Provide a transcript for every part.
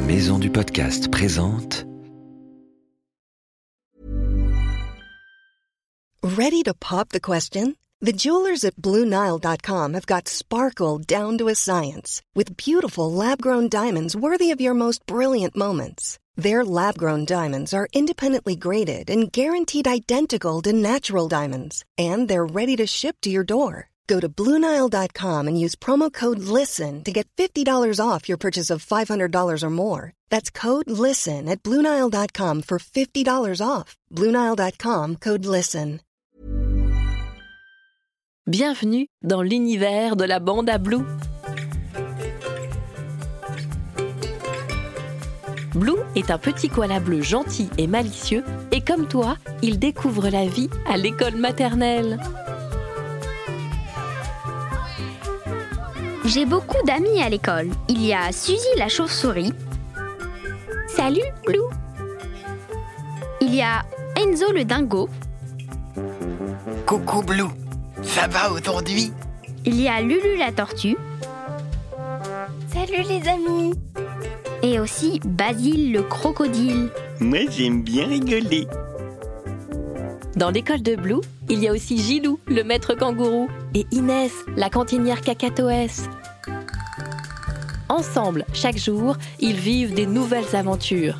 Maison du Podcast présente. Ready to pop the question? The jewelers at BlueNile.com have got sparkle down to a science with beautiful lab-grown diamonds worthy of your most brilliant moments. Their lab-grown diamonds are independently graded and guaranteed identical to natural diamonds, and they're ready to ship to your door. Go to BlueNile.com and use promo code LISTEN to get $50 off your purchase of $500 or more. That's code LISTEN at BlueNile.com for $50 off. BlueNile.com, code LISTEN. Bienvenue dans l'univers de la bande à Blue. Blue est un petit koala bleu gentil et malicieux et comme toi, il découvre la vie à l'école maternelle. J'ai beaucoup d'amis à l'école. Il y a Suzy la chauve-souris. Salut, Blue. Il y a Enzo le dingo. Coucou Blue, ça va aujourd'hui? Il y a Lulu la tortue. Salut les amis. Et aussi Basile le crocodile. Moi j'aime bien rigoler. Dans l'école de Blue, il y a aussi Gilou, le maître kangourou, et Inès, la cantinière cacatoès. Ensemble, chaque jour, ils vivent des nouvelles aventures.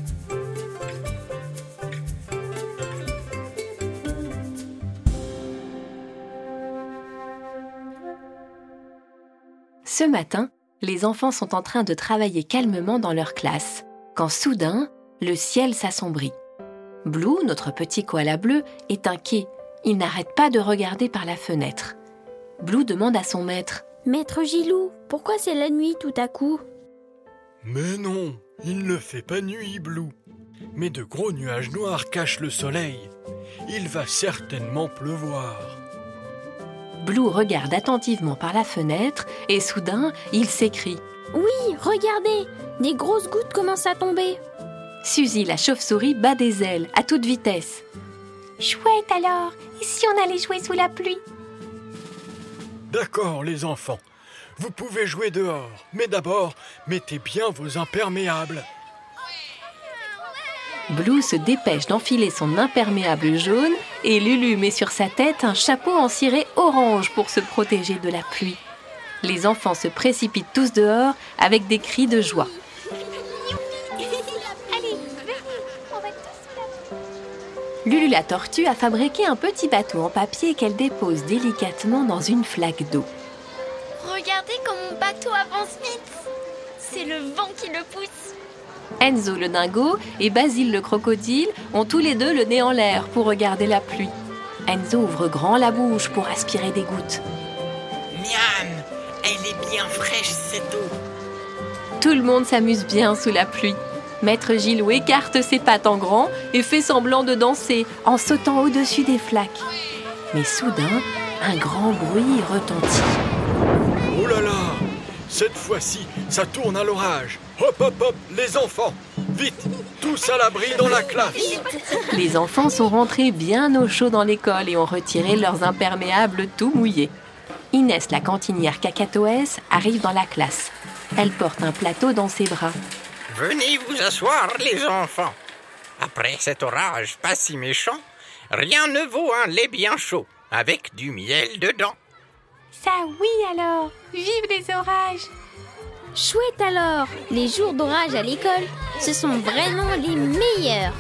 Ce matin, les enfants sont en train de travailler calmement dans leur classe, quand soudain, le ciel s'assombrit. Blue, notre petit koala bleu, est inquiet. Il n'arrête pas de regarder par la fenêtre. Blue demande à son maître. « Maître Gilou, pourquoi c'est la nuit tout à coup ?» Mais non, il ne fait pas nuit, Blue. Mais de gros nuages noirs cachent le soleil. Il va certainement pleuvoir. Blue regarde attentivement par la fenêtre et soudain, il s'écrie. « Oui, regardez, des grosses gouttes commencent à tomber. » Suzy, la chauve-souris, bat des ailes à toute vitesse. « Chouette alors, et si on allait jouer sous la pluie ?» D'accord les enfants, vous pouvez jouer dehors, mais d'abord, mettez bien vos imperméables. Blue se dépêche d'enfiler son imperméable jaune et Lulu met sur sa tête un chapeau en ciré orange pour se protéger de la pluie. Les enfants se précipitent tous dehors avec des cris de joie. Lulu la tortue a fabriqué un petit bateau en papier qu'elle dépose délicatement dans une flaque d'eau. Regardez comme mon bateau avance vite. C'est le vent qui le pousse. Enzo le dingo et Basile le crocodile ont tous les deux le nez en l'air pour regarder la pluie. Enzo ouvre grand la bouche pour aspirer des gouttes. Miam, elle est bien fraîche cette eau. Tout le monde s'amuse bien sous la pluie. Maître Gilou écarte ses pattes en grand et fait semblant de danser en sautant au-dessus des flaques. Mais soudain, un grand bruit retentit. Oh là là, cette fois-ci, ça tourne à l'orage. Hop hop hop, les enfants, vite, tous à l'abri dans la classe. Les enfants sont rentrés bien au chaud dans l'école et ont retiré leurs imperméables tout mouillés. Inès, la cantinière cacatoès, arrive dans la classe. Elle porte un plateau dans ses bras. Venez vous asseoir les enfants. Après cet orage pas si méchant, rien ne vaut un lait bien chaud, avec du miel dedans. Ça oui alors, vive les orages. Chouette alors, les jours d'orage à l'école, ce sont vraiment les meilleurs.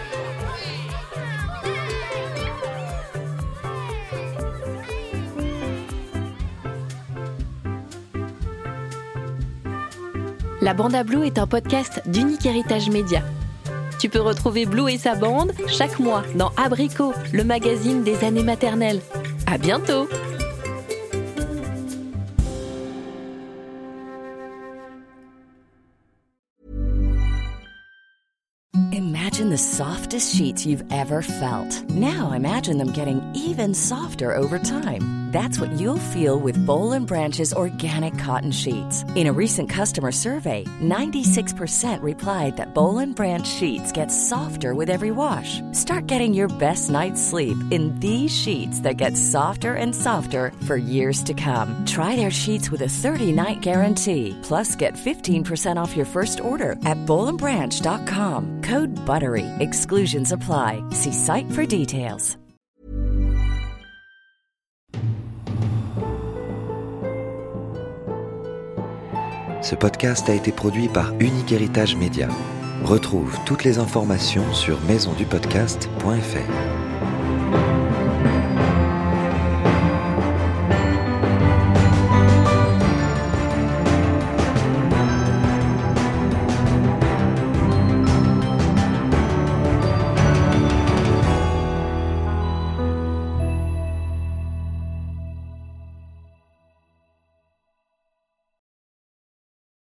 La bande à Blue est un podcast d'Unique Héritage Média. Tu peux retrouver Blue et sa bande chaque mois dans Abricot, le magazine des années maternelles. À bientôt! Imagine the softest sheets you've ever felt. Now imagine them getting even softer over time. That's what you'll feel with Boll & Branch's organic cotton sheets. In a recent customer survey, 96% replied that Boll & Branch sheets get softer with every wash. Start getting your best night's sleep in these sheets that get softer and softer for years to come. Try their sheets with a 30-night guarantee. Plus, get 15% off your first order at bollandbranch.com. Code BUTTERY. Exclusions apply. See site for details. Ce podcast a été produit par Unique Héritage Média. Retrouve toutes les informations sur maisondupodcast.fr.